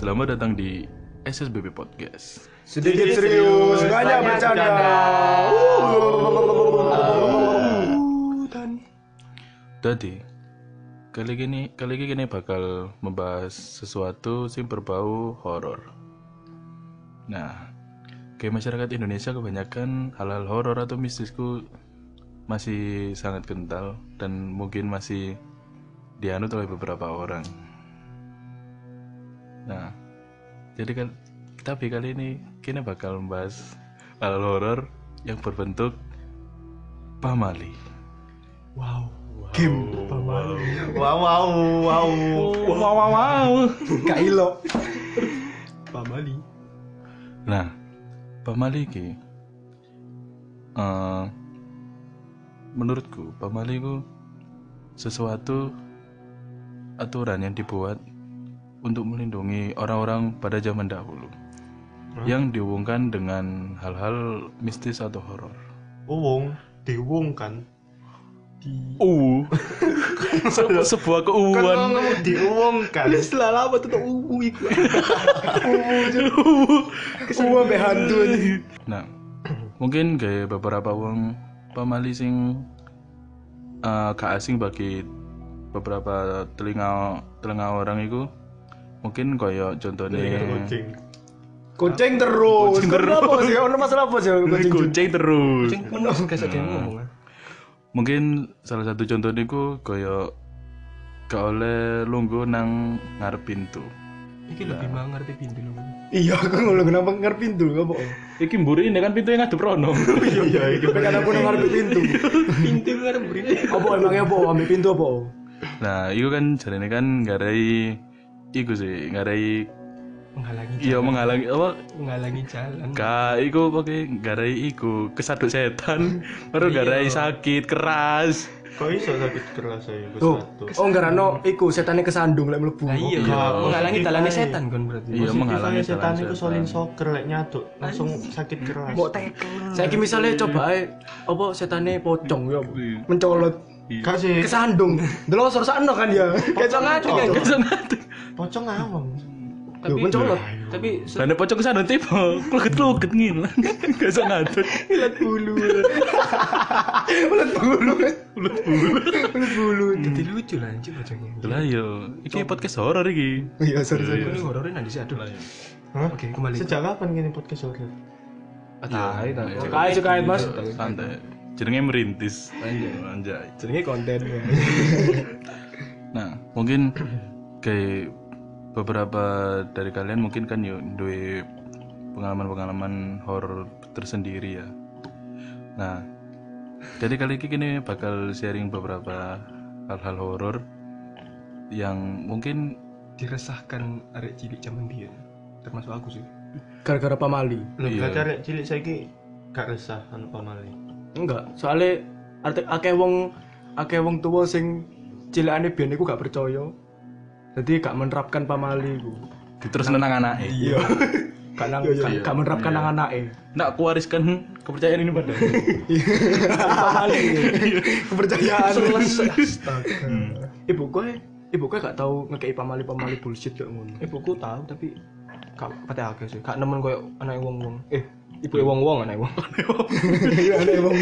Selamat datang di SSBB Podcast. Sedikit serius, banyak bercanda. Jadi, kali ini bakal membahas sesuatu yang berbau horor. Nah, kayak masyarakat Indonesia kebanyakan hal-hal horor atau mistisku masih sangat kental dan mungkin masih dianut oleh beberapa orang. Nah, tapi kali ini kita bakal membahas hal horor yang berbentuk pamali. Wow. Game pamali. Wow. Gak ilo. Pamali. Nah, pamali ki menurutku pamali ku sesuatu aturan yang dibuat untuk melindungi orang-orang pada zaman dahulu yang dihubungkan dengan hal-hal mistis atau horor. Diwung kan? Sebuah keuuan. Kan ngomong diwung kan? Setelah lama tuh iku. Semua be hantu. Nah, mungkin kayak beberapa wong pamali sing gak asing bagi beberapa telinga orang itu. Mungkin kayak contohnya Kucing terus. Kenapa sih? Ono masalah apa sih kucing terus. Kucing penuh gak ada ngomong. Mungkin salah satu contohnya ku kayak gak oleh lungguh nang ngarep pintu. Iki lebih ngerti pintu lho. Iya, aku ngono kenapa ngarep pintu apa? Iki mburi ini kan pintu yang ngadep rono. Iya, iki Pengen aku nang ngarep pintu. Pintu ngarep mburi. Apa emangnya apa? Ambil pintu apa? Nah, itu kan jarene kan ngarai menghalangi jalan. Iku pakai garai iku kesaduk setan, baru garai sakit keras. Kok iso sakit keras ae Oh, ngarano iku setane kesandung lek mlebu. Nah, iya, menghalangi jalannya setan kan berarti. Iya, menghalangi setan jalan iku solin soker lek nyaduk langsung sakit keras. Mbok tekel. Saiki misale coba ae apa setane pocong ya. Mencolot Kasih kesandung. Delosor sakno kan ya. Kecok ngati kan. pocong ngawang. Tapi mencolot. Tapi Lane pocong kesana tipe kluget ngilang. Gak iso ngadut. Ulat bulu. Ulat bulu. jadi lucu lah anjir bocahnya. Lah yo, iki podcast horor iki. Iya, sorry. Ini horornya nanti sih aduh. Hah? Oke, kembali. Sejak kapan gini podcast horor? Kait Mas. Santai. Jenenge merintis. Anjay. Jenenge konten. Nah, mungkin kayak beberapa dari kalian mungkin kan yuk duwe pengalaman horor tersendiri ya. Nah, jadi kali ini bakal sharing beberapa hal-hal horor yang mungkin Diresahkan arek cilik zaman dia. Termasuk aku sih. Gara-gara pamali. Lho, Iya. gak arek cilik saiki gak resah anu pamali. Enggak, soalnya akeh wong tuwa sing cilikane biyen iku gak percaya. Jadi gak menerapkan pamali iku. terus nang anake. Iya. Gak menerapkan nang anake. Nak kuwariskan kepercayaan ini pada. Pamali. Kepercayaan. Astaga. Ibuku gak tahu ngekei pamali bullshit kayak ngono. Ibuku tahu tapi gak pate akeh sih. Gak nemen koyo anake wong-wong. Ibu wong-wong anake wong. Anake wong.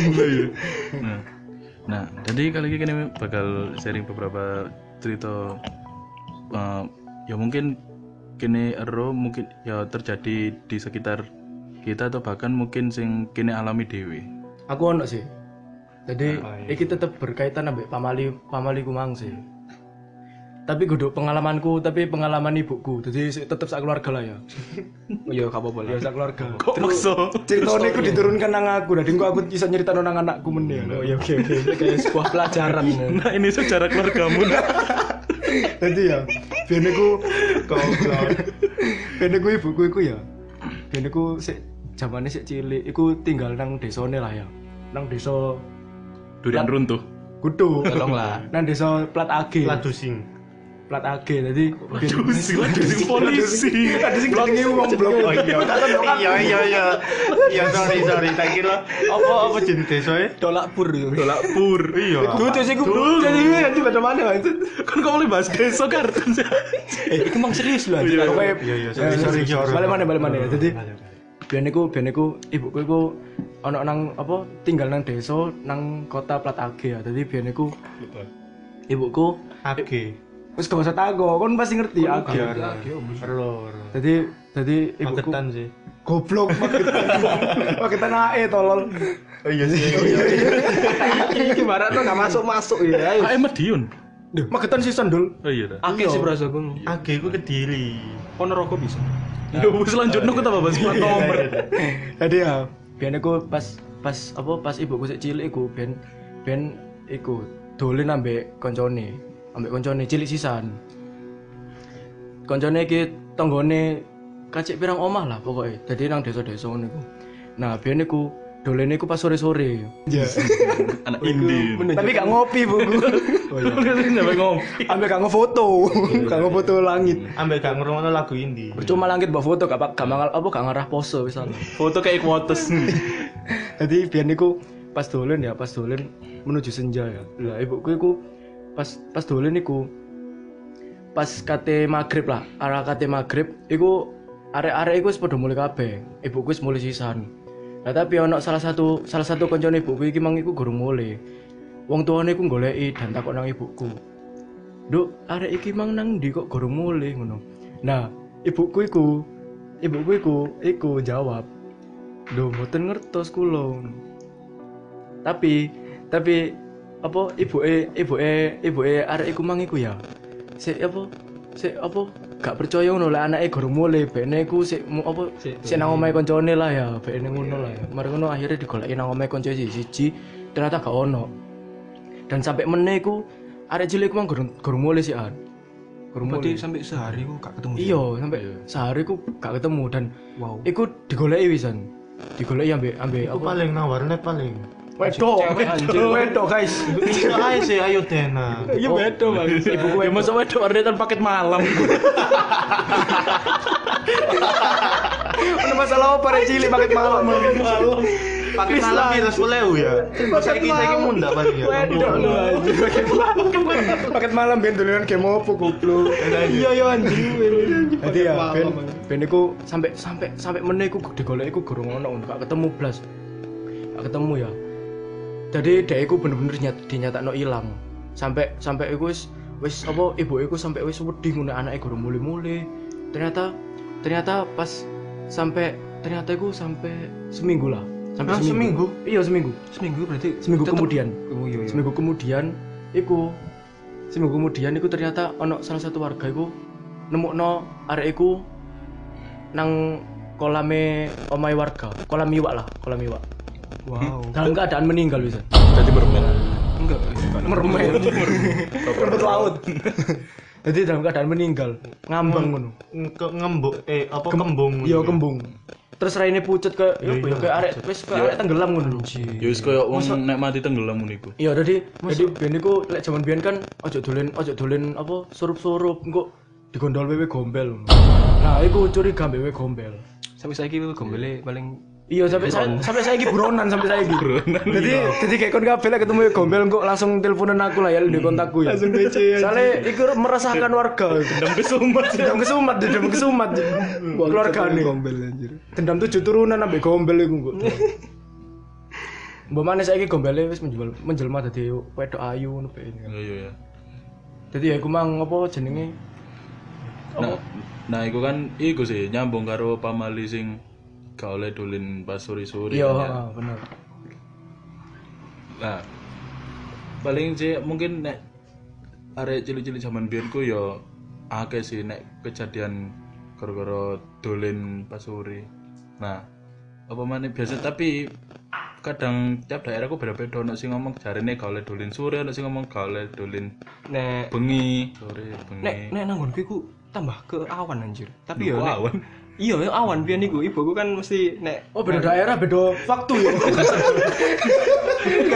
Nah, jadi kali ini bakal sharing beberapa cerita ya mungkin kini mungkin ya terjadi di sekitar kita atau bahkan mungkin sing kini alami dewe. Aku ono sih. Jadi iki tetep berkaitan ambek pamali kumang sih. Tapi kudu pengalamanku, tapi pengalaman ibuku. Jadi tetep sak keluarga lah ya. Oh iya, gak apa-apa lah. Ya sak keluarga. Kok maksa? Ceritane iku diturunkan nang aku. Dadi aku bisa nyeritakno nang anakku meneh. Oh ya oke. Kayak sebuah pelajaran. Nah, ini sejarah keluargamu. Jadi ya, biyen iku goblok. Biyen iku ibuku iku ya. Biyen iku sik jamane sik cilik, iku tinggal nang desane lah ya. Nang desa Durian runtuh. Kudu. Tolonglah. Nang desa Plat Age. Ladusing. plat AG jadi Sila dari polisi. ada sing bloknya wong blok. Oh iya sorry tak kira apa jenis desa e Tolak pur yo. Tolak pur. iya Tuh sing ku jadi nanti pada mana itu. Kan kau boleh bahas desa kartun. Iku mang serius lho. Iya. Pokoknya iya sorry balik mana. Jadi biyen iku ibuku iku ana nang apa tinggal nang desa nang kota plat AG ya. Jadi biyen iku ibuku AG wis gak usah takok, kon pasti ngerti AG. error Jadi ibuku magetan sih goblok paketan AE tolol. oh iya sih Iki barat tuh enggak masuk ya. Ah, Madiun. Duh, magetan season dul. Oh iya dah. Akeh sih berasa gue. AG ku Kediri Ponorogo bisa. Ya wis lanjutno kita bahas plat nomor. Jadi ya, biyen aku pas ibuku sik cilik iku ben iku dolen ambek koncone cilik sisan. Koncone iki tanggane kacik pirang omah lah pokoknya. Jadi nang desa-desa ngono iku. Nah, biyen iku dolene iku pas sore-sore. Iya. Anak indie. Tapi gak ngopi, buku. Oh iya. Sampai ngopi. Ambek gak ngofoto. Gak ngofoto langit. ambek gak ngrungokno lagu indie Percuma langit mbok foto gak mangal apa gak ngarah pose misal. Foto kayak quotes. Jadi biyen niku pas dolen menuju senja ya. Lah ibuku iku pas dolen niku pas kate magrib lah, arah kate magrib iku arek-arek iku wis padha mulai kabeh. Ibuku wis mulai sisan. Lah tapi ono salah satu koncone ibuku iki mang iku gurung mulai. Wong tuane iku goleki dan takon nang ibuku. Nduk, arek iki mang nang ndi kok gurung mulai ngono. Nah, ibuku iku jawab, "Lho, mboten ngertos kula." Tapi apa ibuke arek iku mang iku ya. Sik apa gak percaya ngono lah anake gurung mulai bene iku sik nang omahe koncone lah ya bene ngono lah ya. Mari ngono akhirnya digoleki nang omahe konco siji ternyata gak ono. Dan sampai meneh iku arek cilik iku mang gurung mulai sih an. Gurung Berarti mulai. sampai sehari kok gak ketemu. Iya, sampai sehari ku gak ketemu dan Wow. iku digoleki wisan. Digoleki ambek aku paling nang warnet paling wedok, guys. iso ae sih ayo Dena Iya wedok, Bang. Ibuku ya masa wedok orderan paket malam. Ono masalah apa rek cilik paket malam. pakai malam piro 10.000 ya saiki mundak paling ya Wedok lu anjir. Paket malam ben dolanan game opo goblok. Iya yo anjing. Jadi ya ben iku sampai meneh iku digoleki iku gurung ono gak ketemu blas. Gak ketemu ya. Jadi dhek iku bener-bener dinyatakno ilang. Sampai iku wis apa ibu iku sampai wis wedi ngono anake gurung mule-mule. Ternyata pas ternyata iku sampai seminggu lah. Sampai seminggu. Iya, seminggu. Seminggu berarti Seminggu kemudian. Oh iya. Seminggu kemudian iku ternyata ono salah satu warga iku nemukno arek iku nang kolame omahe warga, kolam iwak. Wow. Dalam keadaan meninggal bisa. Jadi bermain. Enggak. Mermaid. Rumput laut. Jadi dalam keadaan meninggal, ngambang ngono. ngembuk apa kembung Iya, kembung. Terus raine pucet ke arek wis ke arek tenggelam ngono. Ya wis koyo wong nek mati tenggelam ngono iku. Iya, jadi biyen niku lek jaman biyen kan ojo dolen apa surup-surup engko digondol wewe gombel. Nah, iku curiga wewe gombel. Sampai saiki gombele paling Iya, sampai saiki buronan sampai saiki. Jadi kayak kon kabeh lek ketemu wewe gombel engko langsung teleponan aku lah ya di kontakku ya. Langsung BC. Soale iku meresahkan warga. Dendam kesumat. Keluargane gombel anjir. Dendam 7 turunan ambek gombel iku kok. Mbok maneh saiki gombele wis menjelma dadi wedok ayu ngono bae. Iya. Jadi ya iku mang apa jenenge? Nah, iku kan iku sih nyambung karo pamali sing gak oleh dolen pas sore-sore. Iya, kan, ya. bener. Nah, paling sih mungkin nek arek cilik-cilik zaman biyen ku ya akeh sih nek kejadian gara-gara dolen pas sore. Nah, apa maneh biasa tapi kadang tiap daerah ku beda-beda ono sing ngomong jarene gak oleh dolen sore, ono sing ngomong gak oleh dolen nek bengi, sore bengi. nek nanggonku iku tambah ke awan anjir. Tapi Duh, ya awan. Iya, awan biyen iku ibuku kan mesti nek Oh, beda daerah, beda waktu ya. enggak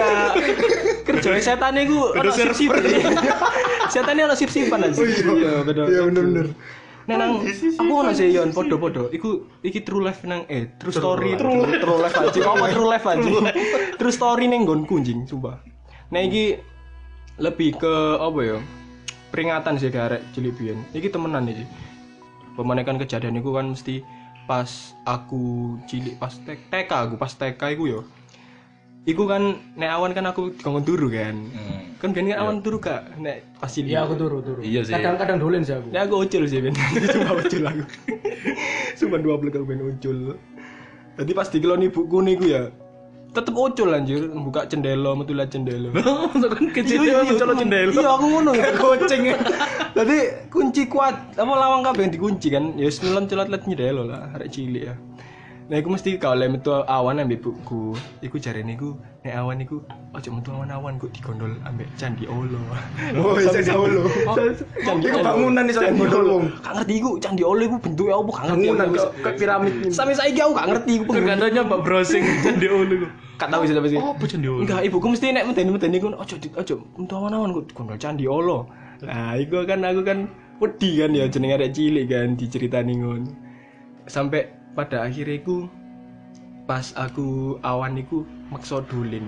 Kerja setane iku ono sip-sipan. Setane ono sip-sipan aja. Iya, bener. Iya bener. Nek nang aku ono sih yon podo-podo. Iki true life nang true story. True life aja. Kok true life aja. True story ning nggonku njing, sumpah. Nek iki lebih ke apa ya? Peringatan sih ke arek cilik biyen. Iki temenan iki. Pemanekan kejadian iku kan mesti pas aku cilik pas TK aku pas TK iku yo. Iku kan nek awan kan aku dikongkon turu kan. Kan biyen kan awan turu Kak nek pas cilik. Iya aku turu. Iya sih. Kadang-kadang dolen sih aku. Nek aku ucul sih biyen. Cuma ucul aku. Cuma 12 aku ben ucul. Jadi pas dikeloni ibuku niku ya tetep ucul anjir, buka jendela, metu liat jendela. Kan kejadian mencolok jendela. Iya aku ngono kucing. Jadi kunci kuat, apa lawang kabeh dikunci kan. Ya wis nyelot liat jendela lah, arek cilik ya. Nah iku mesti kalau metu awan ambek ibuku. Iku jarene iku nek awan iku aja metu awan-awan kok digondol ambek Candi Olo. Oh, isa Olo. Candi Iku bangunan iso gondol wong. Gak ngerti iku Candi Olo iku bentuke apa gak ngerti. Bangunan kayak piramid. Sampai saiki aku gak ngerti iku Katanya Mbak browsing Candi Olo iku. Gak tau sih sampai sih. Oh, apa Candi Olo? Enggak, ibuku mesti nek medeni iku aja metu awan-awan kok digondol Candi Olo. Nah, iku kan aku kan wedi kan ya jenenge arek cilik kan diceritani ngono. Sampai pada akhirnya iku pas aku awan iku maksa dolen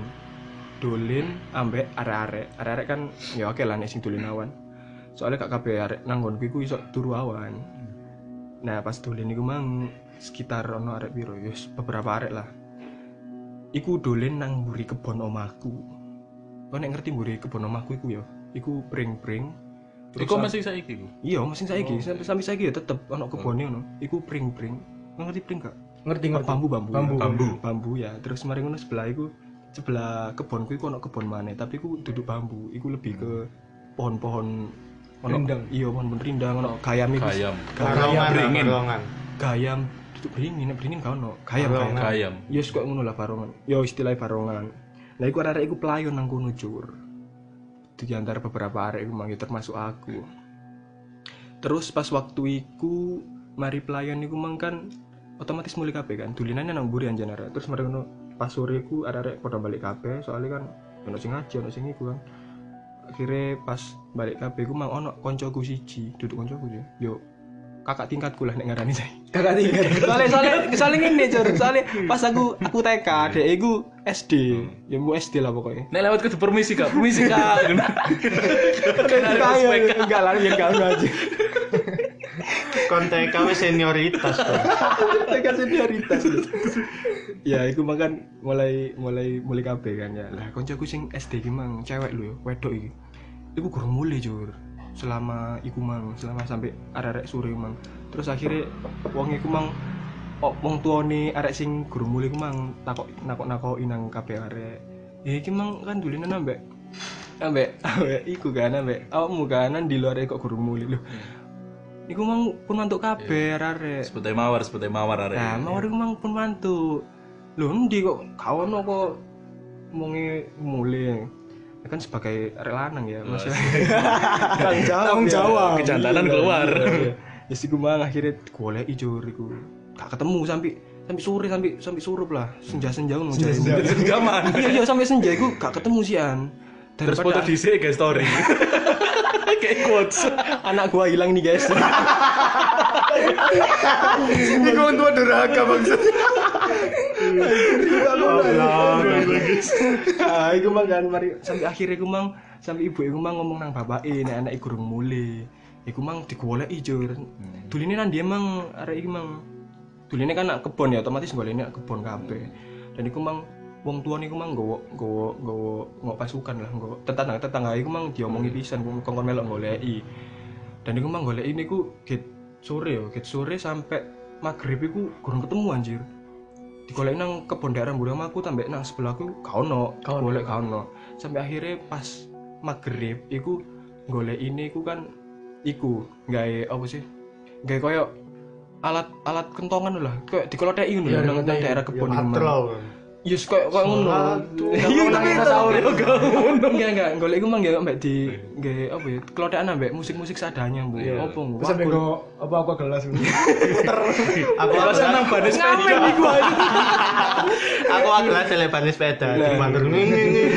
ambek arek-arek kan ya oke lah nek sing dolen awan soalnya gak kabeh arek nang nggonku iku iso turu awan. Nah pas dolen iku mang sekitar ono arek piro ya beberapa arek lah iku dolen nang mburi kebon omahku. Kok nek ngerti mburi kebon omahku iku ya iku pring-pring. Iku masih saiki iku. Iya masih saiki sampai saiki ya tetep ono kebone ngono iku pring-pring. Ngerti pring gak? Ngerti. Bambu ya. Terus mari ngono sebelah kebonku iku ono kebon maneh, tapi iku duduk bambu. Iku lebih ke pohon-pohon rindang. Iya, pohon rindang ono gayam iku. Barongan. Gayam duduk beringin gak ono. Gayam. Ya kok ngono lah barongan. Ya istilah barongan. Lah iku arek iku pelayon nang kono cur. Di antara beberapa arek iku mang termasuk aku. Terus pas waktu iku mari pelayan iku mang kan otomatis mulai kabeh kan dulinane nang mburi anjen arek. Terus mari ngono pas sore ku arek padha balik kabeh soalnya kan ono sing ngaji ono sing iku kan. Akhire pas balik kabeh ku mang ono koncoku siji, duduk koncoku yo kakak tingkatku lah nek ngarani saya. Kakak tinggal. Soalnya ngene Cur, soalnya pas aku TK, dek iku SD. Ya mau SD lah pokoknya. Nek lewat kudu permisi Kak. Enggak lah biar kamu aja. Konten kamu senioritas tuh. Tekan senioritas. Ya, iku makan mulai kabeh kan ya. Lah koncoku sing SD ki mang cewek lho ya, wedok iki. Iku gurung mulai Jur. Selama sampai arek sore mang. Terus akhirnya wong iku mang wong tuane arek sing gurung mulai ku mang nakok-nakoki nang kabeh arek. Ya iki mang kan dulinan ambek iku kan ambek awakmu kan di luar kok gurung mulai lho. Iku mang pun mantuk kabeh arek. Seperti mawar arek. Nah, mawar iku mang pun mantuk. Lho endi kok kawono kok monge mulai. Ya kan sebagai arek lanang ya, Mas. Tanggung jawab. Kejantanan keluar. Ya sik mang akhirnya goleki Jur iku. Gak ketemu sampai sore sampai surup lah. Senja-senja ngono jare. Jaman. Iya sampai senja iku gak ketemu sian. Terus foto dhisik guys story. Kayak quotes. Anak gua hilang nih guys. Iku untuk durhaka maksud. Iku mang kan mari sampai akhirnya iku mang sampai ibu iku mang ngomong nang bapake nek anak iku durung mulih. Iku mang digoleki Jur. Duline nang ndi emang arek iki mang. Duline kan nak kebon ya otomatis golekne nak kebon kabeh. Dan iku mang wong tua niku mang nggo pasukan lah, nggo tetangga iku mang diomongi pisan kongkon melok goleki. Dan iku mang goleki niku get sore sampai magrib iku gurung ketemu anjir. Digoleki nang kebon daerah mburi omahku tambek nang sebelahku gak ono. Sampai akhirnya pas magrib iku goleki niku kan iku gawe apa sih? Gawe koyo alat kentongan lah, kayak dikoloteki ngono nang daerah kebon iku. Yes koyo ngono. Iya tapi dinosaurus ngono. Enggak, golek iku mang ya mbek di nggih apa ya, kelotekan ambek musik-musik seadanya, Bu. Apa ngono. Sampe go aku gelas. Aku nang ban sepeda. Aku gelas lebar sepeda. Dimantur.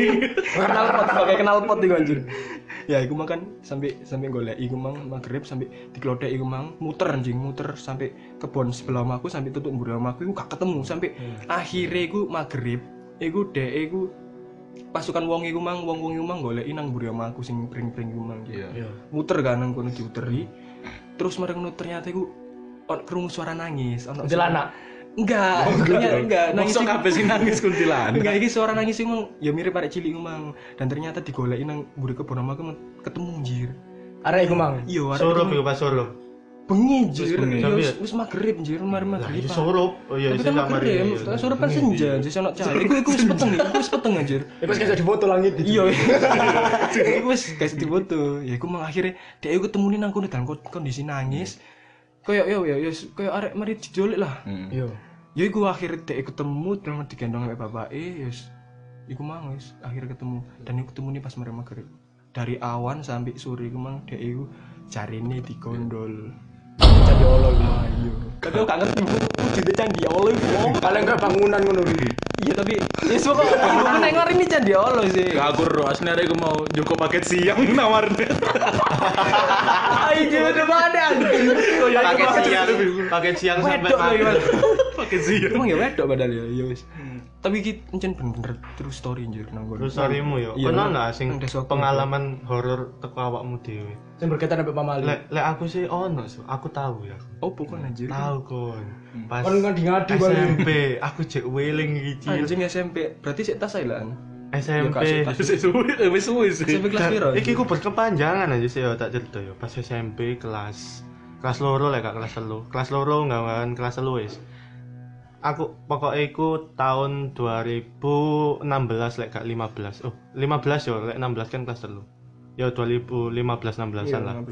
Knalpot iku anjir. Ya iku mang kan sampai golek iku mang magrib sampai diglodek iku mang muter sampai kebon sebelah omahku sampai tutup mburi omahku iku gak ketemu sampai akhire iku magrib iku dhek iku pasukan wong iku mang goleki nang mburi omahku sing pring-pring iku mang. Iya. Muter kan nang kono diuteri. Terus mereka ternyata iku krungu suara nangis ono Kuntilanak. enggak nangis Mosok kabeh sing nangis kuntilanak. enggak iki suara nangis sing mang ya mirip arek cilik mang dan ternyata digoleki nang mburi kebon omahku ketemu anjir. Arek iku mang. Iya arek Surup iku pas surup. bengi anjir. bengi. Ya wis magrib anjir mari Lah magrib. iya surup. Oh iya Tapi sing kan kamar. magrib, surup kan senja, jadi ono cahaya. Iku wis peteng anjir. Terus kayak di foto langit. Iya. Iku wis guys di foto. Ya iku mang akhire dhek iku ketemune nang kono dalam kondisi nangis. Kayak kayak arek mari dijolik lah. Iya. Ya iku akhirnya dek ketemu terus digendong sama bapake ya wis. Iku mang wis akhirnya ketemu dan iku ketemu nih pas mereka magrib. Dari awan sampai sore iku mang dek iku jarine digondol. Candi Allah iku mang. Ayo. Tapi aku gak ngerti wujudnya candi Allah iku. Paling enggak bangunan ngono iki. Iya tapi ya pokok aku nek ngari ini candi Allah sih. Gak aku ro asline arek iku mau joko paket siang nawarne. Ayo udah mana anjing. Paket siang sampai Wedok lagi, Mas. Paket siang. Emang ya wedok padahal ya. Ya wis. Tapi iki encen bener-bener true story anjir nang kono. Terus storymu yo. Iya, Ono nang- enggak sing nang desa aku. pengalaman horor teko awakmu dhewe? Sing berkaitan ambek pamali. Lek aku sih ono, aku tahu ya. Oh bukan anjir. Tahu kon. Pas Kon ngadi-ngadi balik. SMP, aku cek weling iki. Anjing SMP. Berarti sik tas ae lah. SMP. Ya, Kak, Wis suwe sih. SMP kelas piro? Iki ku berkepanjangan aja sih yo tak cerita yo. Pas SMP kelas loro lek gak kelas 3. Kelas loro enggak kelas 3 wis. Aku pokoknya iku tahun 2016 lek gak 15. Oh, 15 yo, lek 16 kan kelas 3. Ya 2015 16-an lah.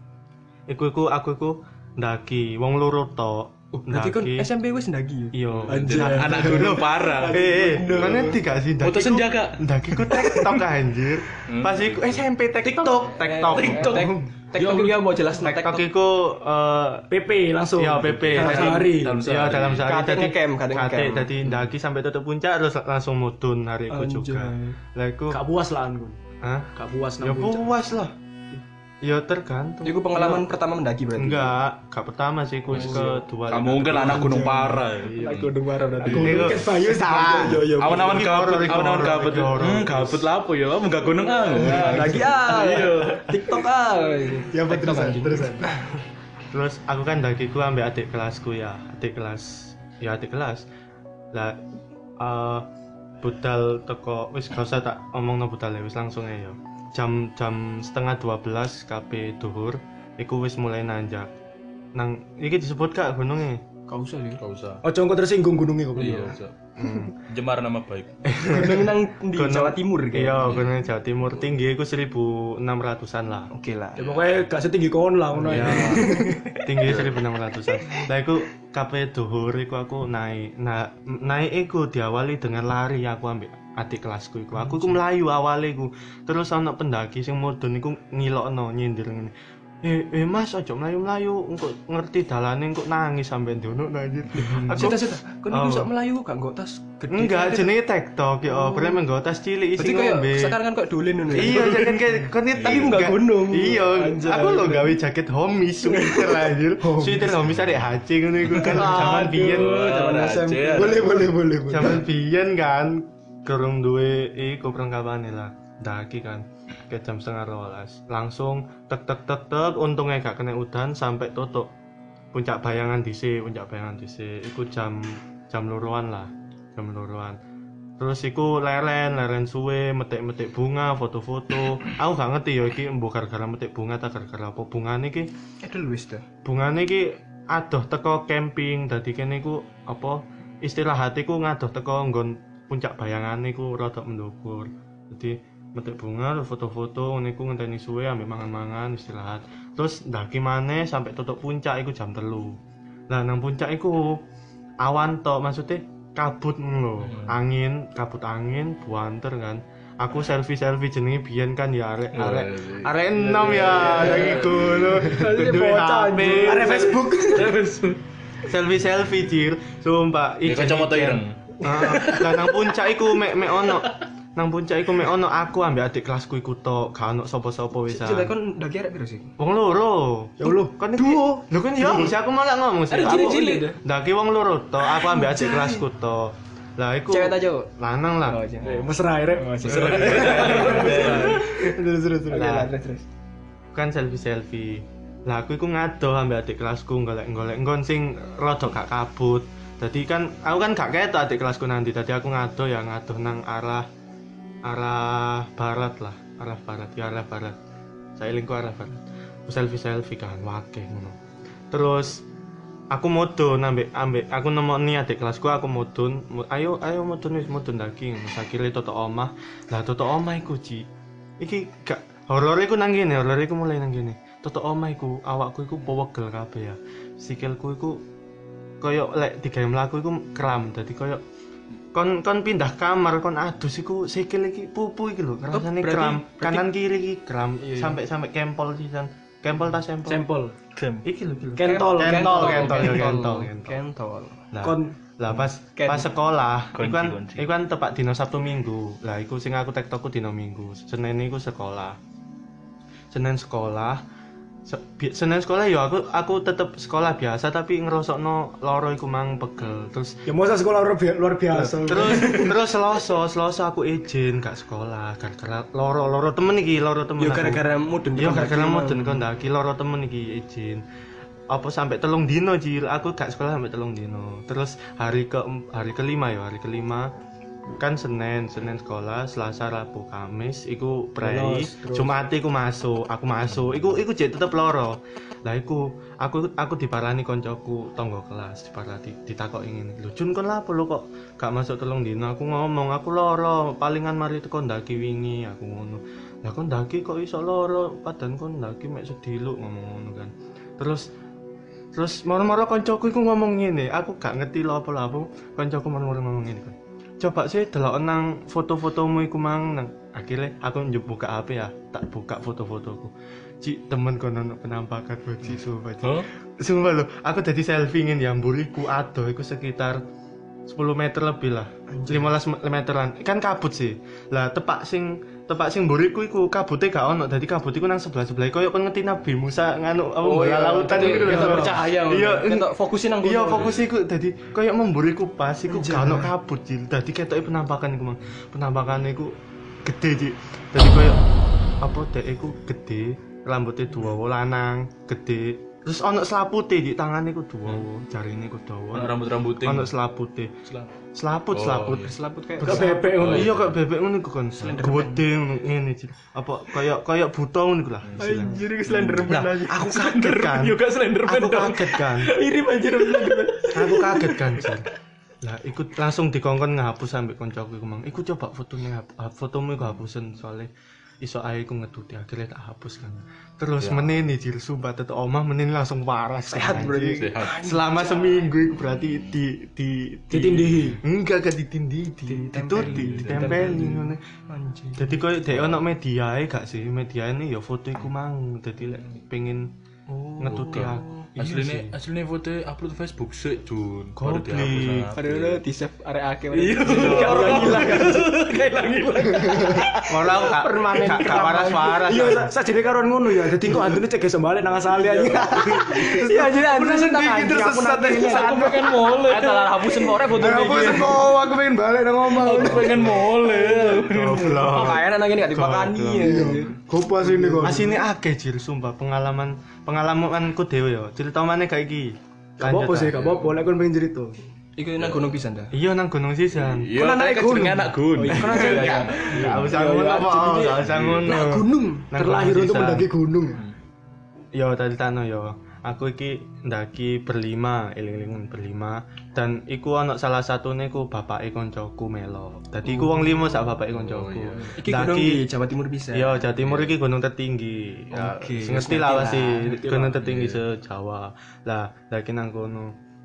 Iku aku ndaki wong loro tok. Berarti kon SMP wis ndagi yo. Iya. Anak gunung parah. Mana ngerti gak sih Foto senja, Kak. Ndaki ku TikTok anjir. Pas iku SMP TikTok. TikTok dia mau jelas TikTok iku PP langsung. ya PP Dalam sehari. Ya dalam sehari Kate ngecamp, kate ngecamp. Dadi ndaki sampai tutup puncak terus langsung mudun hari iku juga. Lah iku Gak puas lah kon. hah? Gak puas Ya nang puncak. puas lah. Ya tergantung. Iku pengalaman pertama mendaki berarti. Enggak, gak pertama sih, ku kedua. Kamu mungkin anak gunung parah. Aku udah marah berarti. Iku Ket bayu salah. Awan-awan Iki kabut, horor, iki awan-awan horor, kabut. iki horor. Kabut lah apa ya? Kamu gak gunung ah. Lagi Iya. TikTok Ya terusan. Terus aku kan dakiku ambek adik kelasku ya, adik kelas. Lah budal teko wis gak usah tak omongno budal wis langsung ae yo. Jam 11:30 KP duhur iku wis mulai nanjak. Nang iki disebut gak gununge? Gak usah sih. Gak usah. Ojo engko tersinggung gunungnya kok. Iya, usah. Jemar nama baik. Gunung nang di Jawa Timur kayak. Iya, gunung Jawa Timur tinggi iku 1600-an lah. Oke lah. Ya pokoknya gak setinggi kon lah ngono Ya, ya. tinggi 1600-an. Lah iku KP duhur iku aku naik. Nah, naik iku diawali dengan lari aku ambek adik kelasku iku. Aku iku melayu awale iku. Terus ana pendaki sing mudhun iku ngilokno nyindir ngene. Mas aja melayu-melayu, engko ngerti dalane engko nangis sampe ndono anjir. Aku Sita. Kon iku sok melayu kok nggo tas gede. enggak jenenge TikTok ya, bener nggo tas cilik isi Berarti kayak ngombe. sekarang kan kok dolen ngono. Iya, jangan kayak kon Tapi enggak gunung. Iya, Anjay. aku lo gawe jaket homies sweater anjir. Sweater homies arek HC ngono iku kan zaman biyen. zaman SMP. Boleh. Zaman biyen kan kurang duwe iku perlengkapane lah. Daki kan ke jam 11:30 langsung tek untungnya gak kena udan sampai tutup puncak bayangan DC iku jam luruan lah, jam luruan. Terus iku leren suwe metik bunga, foto-foto. Aku gak ngerti ya iki mbok gara-gara metik bunga ta gara-gara apa. Bungane iki Edelweiss dah. bungane iki adoh teko camping, dadi kene iku apa istirahat iku ngadoh teko nggon puncak bayangan iku rada mendhuwur. Dadi metik bunga, foto-foto niku ngenteni suwe ambek mangan-mangan istirahat. Terus ndaki maneh sampai tutup puncak iku jam 3. Lah nang puncak iku awan tok, maksudnya kabut ngono. Kabut angin, buanter kan. Aku selfie jenenge biyen kan ya arek enom ya lagi ngono. Duwe HP, Arek Facebook. selfie jir. Sumpah Iki kacamata ireng. Lah nang puncak iku mek ono nang puncak iku mek ono aku ambek adik kelasku iku tok, gak ono sapa-sapa wisan. Coba kon ndaki arek piro sih? Wong loro. Ya Allah, Kan duo. Lho kan ya, mesti aku malah ngomong sih. Ada Aku cilik-cilik. ndaki wong loro tok, aku ambek adik kelasku tok. Lah iku Cewek ta, Cuk? lanang lah. Oh, cewek. mesra rek. Terus. Lah, Terus. kan selfie. Lah aku iku ngadoh ambek adik kelasku golek-golek nggon sing rada gak kabut. Dadi kan aku kan gak ketok adik kelasku nanti. Dadi aku ngadoh nang arah barat lah, arah barat. Saya lingku arah barat. Aku selfie kan wakeh ngono. Terus aku mudun ambek aku nemoni adik kelasku, aku mudun. Ayo mudun daki. Sakire toto omah. Lah toto omah iku Ci. Iki gak horor iku nang kene, horor iku mulai nang kene. Toto omah iku awakku iku powegel kabeh ya. Sikilku iku koyo lek digawe mlaku iku kram. Dadi koyo kon pindah kamar kon adus iku sikil iki pupu iki lho, rasane kram. Kanan kiri iki kram sampai kempol sisan. Kempol ta sempol? Sampel. Iki lho. Kentol. Kentol. Lah, Kon lah pas sekolah, iku kan tepak dino Sabtu Minggu. Lah iku sing aku tektokku dino Minggu. Senin iku sekolah. Senin sekolah ya aku tetep sekolah biasa tapi ngerosokno loro iku mang pegel. Terus ya masa sekolah luar biasa. terus Selasa aku izin gak sekolah gara-gara loro temen iki, loro temen. Yo aku. gara-gara mudun. Yo gara-gara mudun kon ndaki loro temen iki izin. Apa sampai 3 dino Jil, aku gak sekolah sampai 3 dino. Terus hari kelima kan Senin sekolah, Selasa, Rabu, Kamis iku prei, Jumat iku aku masuk. Iku jek tetep loro. Lah iku aku diparani koncoku tangga kelas, ditakoki ngene. Lho Jun kon lapo lho kok gak masuk 3 dino? Aku ngomong aku loro, palingan mari teko ndaki wingi aku ngono. Lah kon ndaki kok iso loro, padahal kon ndaki mek sediluk ngomong ngono kan. Terus moro-moro koncoku iku ngomong ngene, aku gak ngerti lho apa-apa. Koncoku moro-moro ngomong ngene kan. Coba sih delok nang foto-fotomu iku mang nang akhirnya aku buka HP ya, tak buka foto-fotoku. Cik temen kono penampakan bocil sumpah. Sumpah lho, aku dadi selfie ngene ya mburiku adoh iku sekitar 10 meter lebih lah. 15 meteran. Kan kabut sih. Lah tepak sing mburiku iku kabute gak ono. Dadi kabut iku nang sebelah-sebelah koyo kon ngerti Nabi Musa nganu apa bola lautan iku lho. Kita percaya. Iya, kita fokusin nang. Iya, fokus iku dadi koyo memburiku pas iku gak ono kabut Jil. Dadi ketoke penampakan iku mang. Penampakan iku gede Cik. Dadi koyo apa dek iku gede, rambutnya dawa lanang, gede. Terus ono selapute di tangane iku dawa, jarine iku dawa. Rambut-rambute. Ono selapute. Selaput. Selaput kayak bebek ngono. Iya kok bebek ngono iku kon. Gede ngono ngene Cil. Apa kaya buta ngono iku lah. anjir ke Slenderman aja. Aku kaget kan. Yo gak Slenderman. Aku kaget kan. Mirip anjir Slenderman. Aku kaget kan Cil. Lah ikut langsung dikongkon ngapus sampe koncoku iku mang. Iku coba fotomu iku hapusen soalnya iso ae ku ngeduti akhirnya tak hapus kan. Terus menene Jil sumpah tetek omah menene langsung waras. Sehat berarti. Selama seminggu itu berarti Ditindihi. Enggak ditindihi, ditempeli ngono. Anjir. Dadi koyo dhek ono mediae gak sih? Mediane ya foto iku mang. Dadi lek pengen ngetuti aku. Asline foto upload Facebook sik Jun. Baru Goblok. dihapus. Padahal di save area akhir. Iya. Orang hilang. Kayak hilang. Malah gak Permanen gak waras-waras. Iya, sajane karon ngono ya. Dadi kok antune cek iso balik nang asale aja. Iya anjir anjir Sedikit tersesat Aku pengen mole. Salah hapusin ore foto iki. Aku pengen balik nang omah. Aku pengen mole. Goblok. Kayaknya nang ini gak dipakani ya. Gopas ini kok. Asine akeh Jil sumpah pengalamanku dhewe ya. Cerita maneh gak iki. Gak apa-apa sih, gak apa-apa. Lek kon pengen cerita. Iku nang gunung pisan ta. Iya nang Gunung Sisan. Iya, Kan anak gunung. anak gunung. Gak usah ngono apa, gak usah ngono. Nah, gunung. Nang Terlahir Gunung untuk Sisan. mendaki gunung. Yo tadi tano yo. Aku iki ndaki berlima, eling-elingan berlima dan iku ana salah satune ku bapake koncoku melo. Dadi iku wong limo sak bapake koncoku. Iki gunung di Jawa Timur bisa. Yo, Jawa Timur iki gunung tertinggi. Ya, Oke, ngerti ngerti lah lah, pasti ngerti gunung lah. tertinggi se-Jawa. Lah, ndaki nang kono.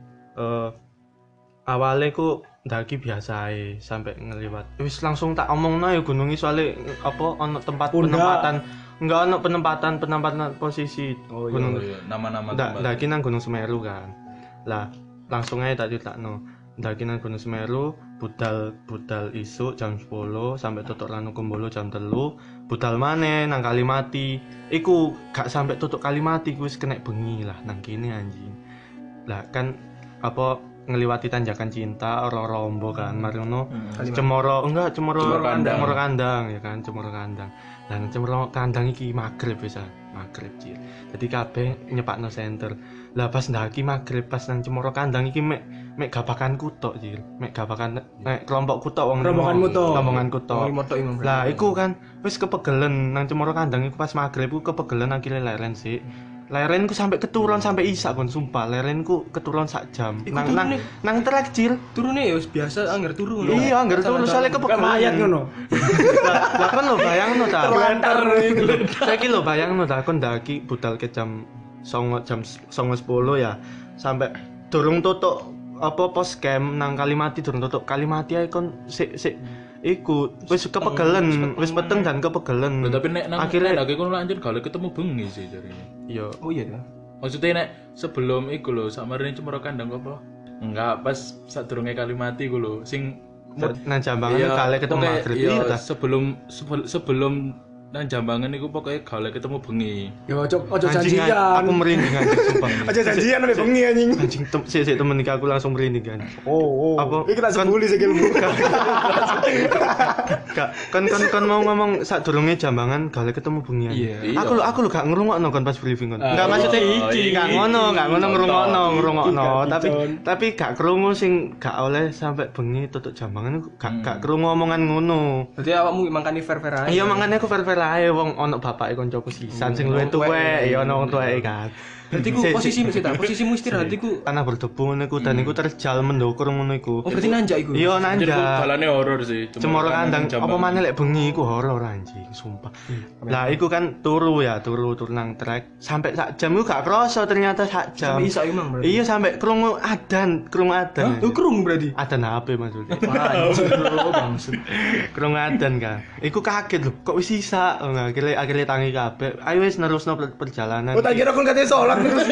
Awale ku ndaki biasa ae sampai ngeliwat. Wis langsung tak omongno ya gunung iki soalé apa ana tempat Pundak. penempatan. Enggak ana penempatan posisi gunung. Iya, nama-nama Ndaki nang Gunung Semeru kan. Lah, langsung aja tak critakno. Ndaki nang Gunung Semeru, budal isuk jam 10 sampai tutuk Ranukumbolo jam 3, budal maneh nang Kalimati. Iku gak sampai tutuk Kalimati ku wis kena bengi lah nang kene anjing. Lah kan apa ngeliwati tanjakan cinta orang rombo kan mari ngono cemoro kandang ya kan cemoro kandang. Dan cemoro kandang iki magrib bisa magrib cil. Jadi kabeh nyepakno senter. Lah pas ndaki magrib pas nang cemoro kandang iki mek gabakanku tok cil. Mek kelompokku tok wong rombonganku tok. Lah iku kan wis kepegelen nang cemoro kandang iku pas magrib ku kepegelen akhire leren sik. Lerenku sampai keturun sampai isak kon sumpah lerenku keturun sak jam nang trek cil turune ya biasa angger turu ngono iya angger turu soalnya kepegelen mayat ngono lah kan lo bayangno ta saiki lo bayangno ta kon ndaki budal ke jam 9:10 ya sampai durung tutuk apa pos camp nang Kalimati durung tutuk Kalimati ae kon sik iku wis kepegelen wis peteng dan kepegelen tapi nek nang akhirnya lagi kono lanjut gale ketemu bengi sih jarine. Iya. Oh iya ta. Maksudnya nek sebelum iku lho sakmarene cemoro kandang apa? Enggak, pas sadurunge Kalimati ku lho sing nang Jambangan gale ketemu magrib iya ta. sebelum nang Jambangan iku pokoknya gale ketemu bengi. ya ojo janjian Aku merinding anjing sumpah. aja janjian nek bengi anjing Anjing sik temen iki aku langsung merinding kan. Apa iki tak sebuli sikilmu kan mau ngomong sadurunge Jambangan gale ketemu bengi. Iya. Aku lho gak ngrungokno kon pas briefing kon. Enggak maksudnya gak ngono ngrungokno tapi gak krungu sing gak oleh sampai bengi tutuk Jambangan gak krungu omongan ngono. Berarti awakmu mangkani fair-fair ae. Iya makane aku fair ae wong ana bapake koncoku sisan sing luwih tuwek ya ana wong tuweke kan. Berarti ku posisimu istirahat iku tanah berdebu ngono iku dan iku terjal mendokur ngono iku. oh berarti nanjak iku. Iya nanjak. Dalane horor sih. Cemoro kandang apa maneh lek bengi iku horor anjing sumpah. Lah iku kan turu nang trek sampai sak jam iku gak krasa ternyata sak jam. Sampai isak emang berarti. Iya sampai krungu adan. Lu krungu berarti. Adan HP maksudnya. Anjir bro bangsat. Krungu adan kan. Iku kaget lho kok wis isak. Akhirnya tangi kabeh. Ayo wis nerusno perjalanan. oh tak kira kon katanya sholat terus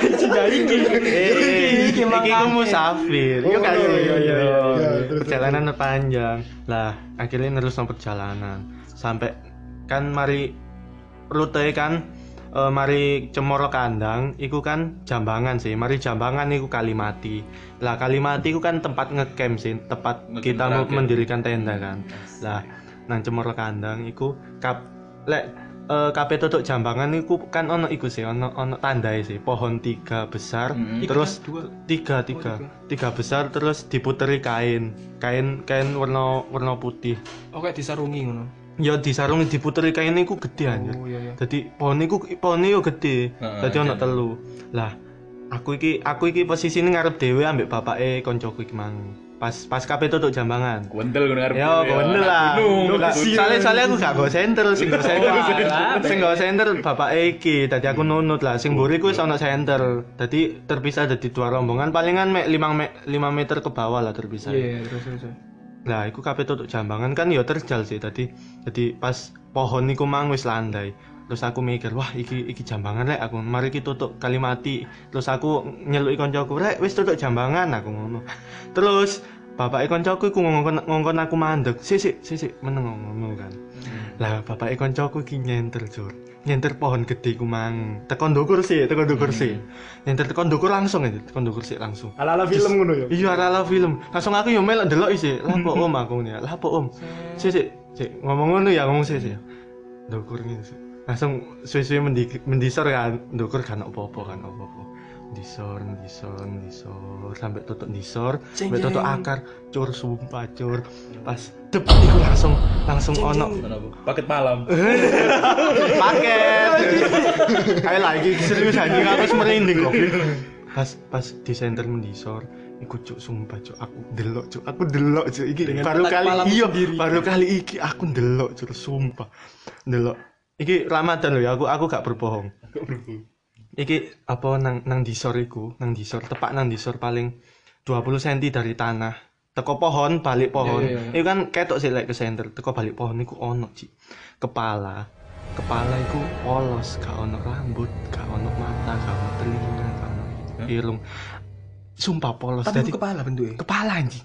iki ku musafir. Yo kan. Perjalanan panjang. Lah, akhirnya nerusno perjalanan. Sampai kan mari rute kan mari Cemoro Kandang iku kan Jambangan sih. Mari Jambangan iku Kalimati. Lah Kalimati iku kan tempat ngecamp sih, tempat kita mendirikan tenda kan. Lah nang Cemoro Kandang iku kabeh tutuk Jambangan iku kan ono iku sih ono tandae sih pohon 3 besar terus 3 besar terus diputeri kain warna putih. Oke disarungi ngono. Ya disarungi diputeri kain iku gede aja. Oh iya. Dadi pohone yo gede. Dadi ono telu. Lah aku iki posisine ngarep dhewe ambek bapake koncoku iki mang. Pas kabeh tutuk Jambangan. Gondel ngono arep. Ya gondel lah. Soale aku gak go center, sing go center bapake iki. Dadi aku nunut lah. Sing mburi ku wis ana center. Dadi terpisah dadi dua rombongan palingan mek 5 meter ke bawah lah terpisah. Iya, terus. Lah iku kabeh tutuk Jambangan kan ya terjal sih tadi. Jadi pas pohon niku mang wis landai. Terus aku mikir, wah iki Jambangan rek aku. Mari kita tutuk Kalimati. Terus aku nyeluki koncoku, rek wis tutuk Jambangan aku ngono. Terus bapake koncoku iku ngongkon aku mandeg. Sik meneng ngono kan. Lah bapake koncoku iki nyenter pohon gede ku mang. Tekan ndukur sih. Nyenter tekan ndukur langsung aja, tekan ndukur sih langsung. ala-ala film ngono ya. Iya ala film. Langsung aku yo melok ndelok isi. Lah apa om aku ngene. Lah apa om? Sik ngomong ngono ya ngomong sik. Ndukur ngene sih. Langsung suwe-suwe mendisor kan. Ndukur kan apa-apa. Disor sampai tutup disor, sampai tutup akar, cur sumpah cur. Pas dep iku langsung ono paket malam. Paket. Kayak lagi serius anjing aku merinding kok. Pas di center mendisor, iku cuk sumpah cuk aku delok cuk iki baru kali iki aku delok cuk sumpah. Delok. Iki Ramadan lho ya aku gak berbohong. Iki apa nang disor iku, tepak nang disor paling 20 cm dari tanah. Teko pohon, balik pohon. Iku kan ketok sih lek ke center, teko balik pohon iku ono Ci. Kepala iku polos, gak ono rambut, gak ono mata, gak ono telinga, gak ono irung. Sumpah polos. Tapi kepala bentuknya. Kepala anjing.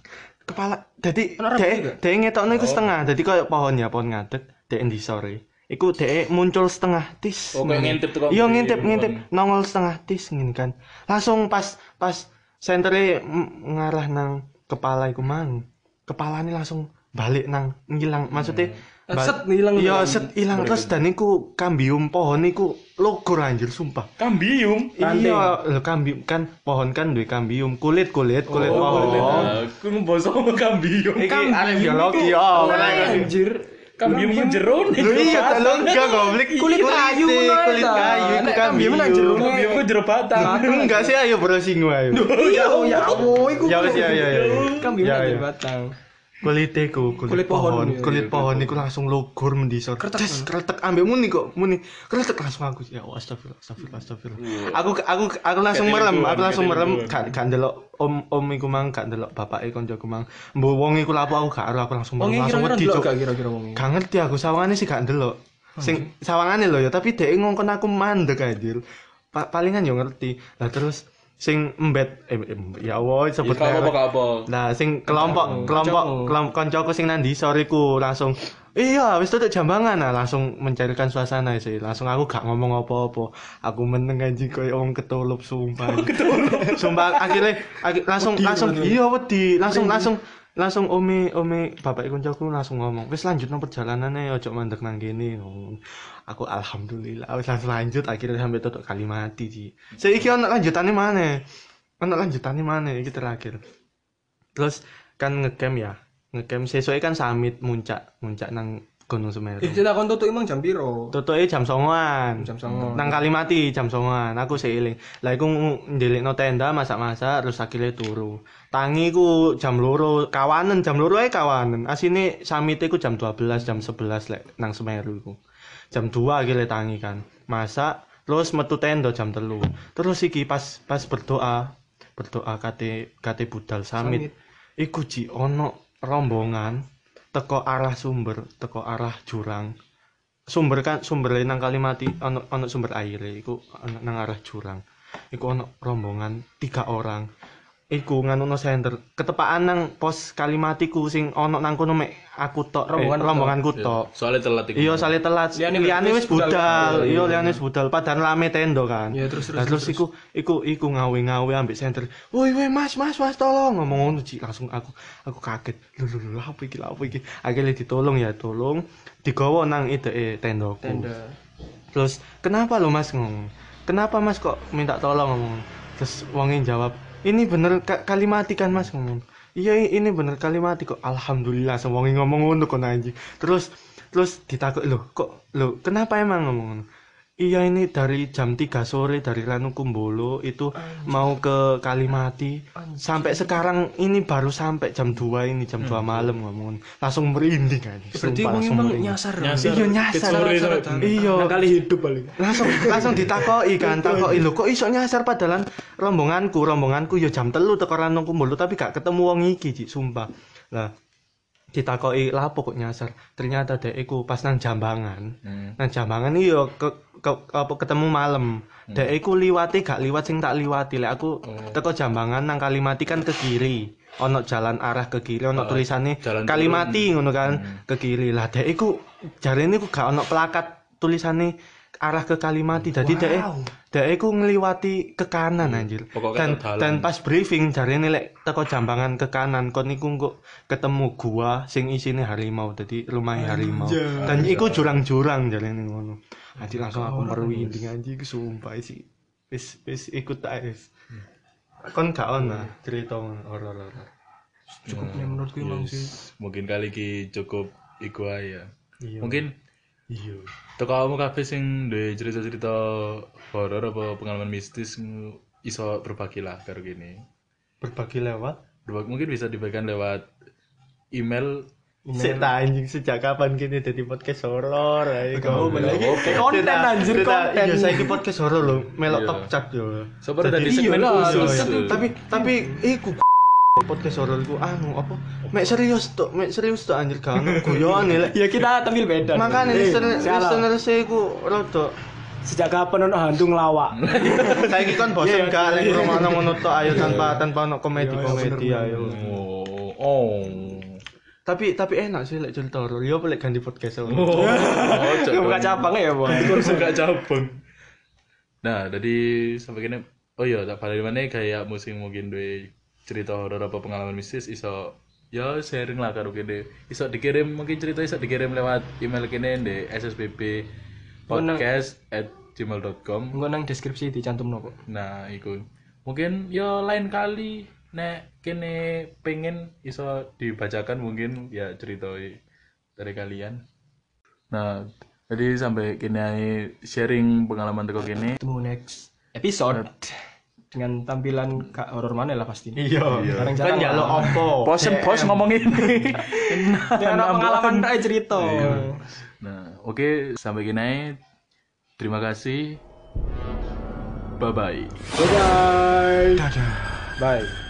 kepala dadi Ono rambut dhek ngetokno iku setengah. Dadi koyo pohon ngadeg dhek endi sore. Iku dhek muncul setengah tis. Oh, kayak ngintip tuh. Iya ngintip nongol setengah tis ngene kan. Langsung pas sentere ngarah nang kepala iku mang. Kepalane langsung balik nang ngilang. Maksudnya set hilang. Iya, set ilang terus dan iku kambium pohon iku logor anjir sumpah. Kambium. Iya, lho kambium kan pohon kan duwe kambium, kulit pohon. Aku mbosok kambium. Iki arek biologi Anjir. Kambium ku jero nih. Lho iya lho enggak goblok. Kulit kayu kulit kayu iku kambium. Kambium ku jero batang. Enggak sih ayo browsing wae. Iya, ya Allah, iku. Ya wis ya. Kambing Ya, aja ya. batang. Kulit pohon. kulit pohon iku langsung logor mendisor. Kretek ambek muni kretek langsung aku ya astagfirullah. Aku langsung merem gak ndelok om iku mang gak ndelok bapake koncoku mang. Mbok wong iku lapo aku gak aro aku langsung wedi cuk. Gak kira-kira wong. Gak ngerti aku sawangane sih gak ndelok. Sing sawangane lho ya tapi dhek ngongkon aku mandek anjir. Palingan yo ngerti. Lah terus sing embet ya Allah sebut apa. Nah, sing kelompok koncoku sing nang ndisor iku langsung iya wis tutuk jambangan nah langsung mencairkan suasana sih. Langsung aku gak ngomong apa-apa. Aku meneng anjing koyo wong ketulup sumpah. Sumpah akhirnya langsung iya wedi langsung ome bapak koncoku langsung ngomong wis lanjutno perjalanane ojo mandek nang kene. Aku alhamdulillah wis langsung lanjut akhirnya sampai tutuk Kalimati sih. Saiki ono lanjutane maneh. Iki terakhir. Terus kan ngecamp sesuai kan summit muncak nang Gunung Semeru. Kita kon tutuk emang jam piro? Tutuke jam 09.00. Nang Kalimati jam 09.00. Aku seiling. Lah iku ndelikno tenda masak-masak terus akhirnya turu. Tangi ku jam 2 kawanen jam 2 ae kawanen. Asine summit iku jam 12 jam 11 lek nang Semeru iku. Jam 2 akhirnya tangi kan. Masak terus metu tenda jam 3. Terus iki pas berdoa kate budal summit. Iku ji ono rombongan teko arah sumber, teko arah jurang. Sumber nang Kalimati ono sumber air iku nang arah jurang. Iku ono rombongan 3 orang. Iku nganono senter ketepaan nang pos Kalimatiku sing ono nang kono mek aku tok rombonganku tok. Soale telat iku. Iya, soale telat. Liyane wis budal. Iya, liyane wis budal padahal rame tenda kan. Iya, terus iku ngawe-ngawe ambek senter. Woi Mas tolong ngomong ngono Ci. Langsung aku kaget. Lho apa iki? Akhirnya ditolong ya, digawa nang tendaku. Tenda. Terus, "Kenapa lo Mas ngomong? Kenapa Mas kok minta tolong ngomong?" Terus wongnya jawab, "Ini bener Kalimati kan Mas ngomong." "Iya ini bener Kalimati kok." Alhamdulillah semuanya ngomong ngono kok anjing. Terus ditakut loh kenapa emang ngomong ngono? "Iya ini dari jam 3 sore dari Ranu Kumbolo itu mau ke Kalimati. Sampai sekarang ini baru sampai jam 2 ini jam 2 malam ngomong. Langsung merinding kan. Berarti emang nyasar. Iya nyasar. Iya. Kali hidup paling. Langsung ditakoki lho kok iso nyasar padahal rombonganku ya jam 3 teko Ranu Kumbolo tapi gak ketemu wong iki Cik, sumpah. Lah ditakoki lapo kok nyasar. Ternyata dek iku pas nang Jambangan. Nang Jambangan iya ketemu malam. Dek iku liwate gak liwat sing tak liwati. Lek aku teko Jambangan nang Kalimati kan ke kiri. Ono jalan arah ke kiri, ono tulisane Kalimati ngono kan, ke kiri. Lah dek iku jarene iku gak ono plakat tulisane arah ke Kalimati. Jadi dek iku ngliwati ke kanan anjir. Dan pas briefing jarene lek teko Jambangan ke kanan kon niku kok ketemu gua sing isine harimau. Dadi rumah harimau. Dan iku jurang-jurang jarene ngono. Anjir langsung aku merwinding anjir sumpah sih. Wis ikut ae. Kon gak ono cerita horor. Cukup menurutku emang sih. Mungkin kali iki cukup iku ae ya. Iya. Mungkin Iya. teko kamu kabeh sing duwe cerita-cerita horor apa pengalaman mistis iso berbagi lah karo gini. Berbagi lewat Mungkin bisa dibagikan lewat email. Sik ta anjing sejak kapan kini dadi podcast horor ae kau Konten anjir konten. Iya saiki podcast horor lho melok top chart yo. Sabar dadi segmen khusus. Tapi iku podcast horor iku apa mek serius tok anjir gak ono guyon lek. Ya kita tampil beda. Makane listener iku rada Sejak kapan ono hantu ngelawak? saiki kan bosen gak lek rumahno ngono tok ayo tanpa ono komedi ayo. Oh. Tapi enak sih lek cerita horor. Yo lek ganti podcast. Oh, Buka cabang ya, Bang. suka cabang. Nah, jadi sampai kini oh iya, tak balik mana kayak musim mungkin duwe cerita horor apa pengalaman mistis iso ya sharing lah karo kene. Iso dikirim mungkin cerita iso dikirim lewat email kene di ssbppodcast@gmail.com. Engko nang deskripsi dicantumno kok. Nah, iku. Mungkin ya lain kali nek kene pengen iso dibacakan mungkin ya cerita dari kalian. Nah, jadi sampai kini sharing pengalaman teko kene. Ketemu next episode dengan tampilan gak horor mana lah pasti. Iya. Jarang-jarang Kan njaluk lah. opo? Bosen bos ngomong ini. Ya ada pengalaman tak cerita. Nah, oke, sampai kini. Terima kasih. Bye bye. Bye bye. Dadah. Bye.